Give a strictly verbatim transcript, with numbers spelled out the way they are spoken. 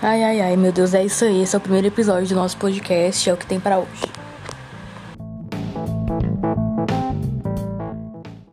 Ai, ai, ai, meu Deus, é isso aí. Esse é o primeiro episódio do nosso podcast, é o que tem pra hoje.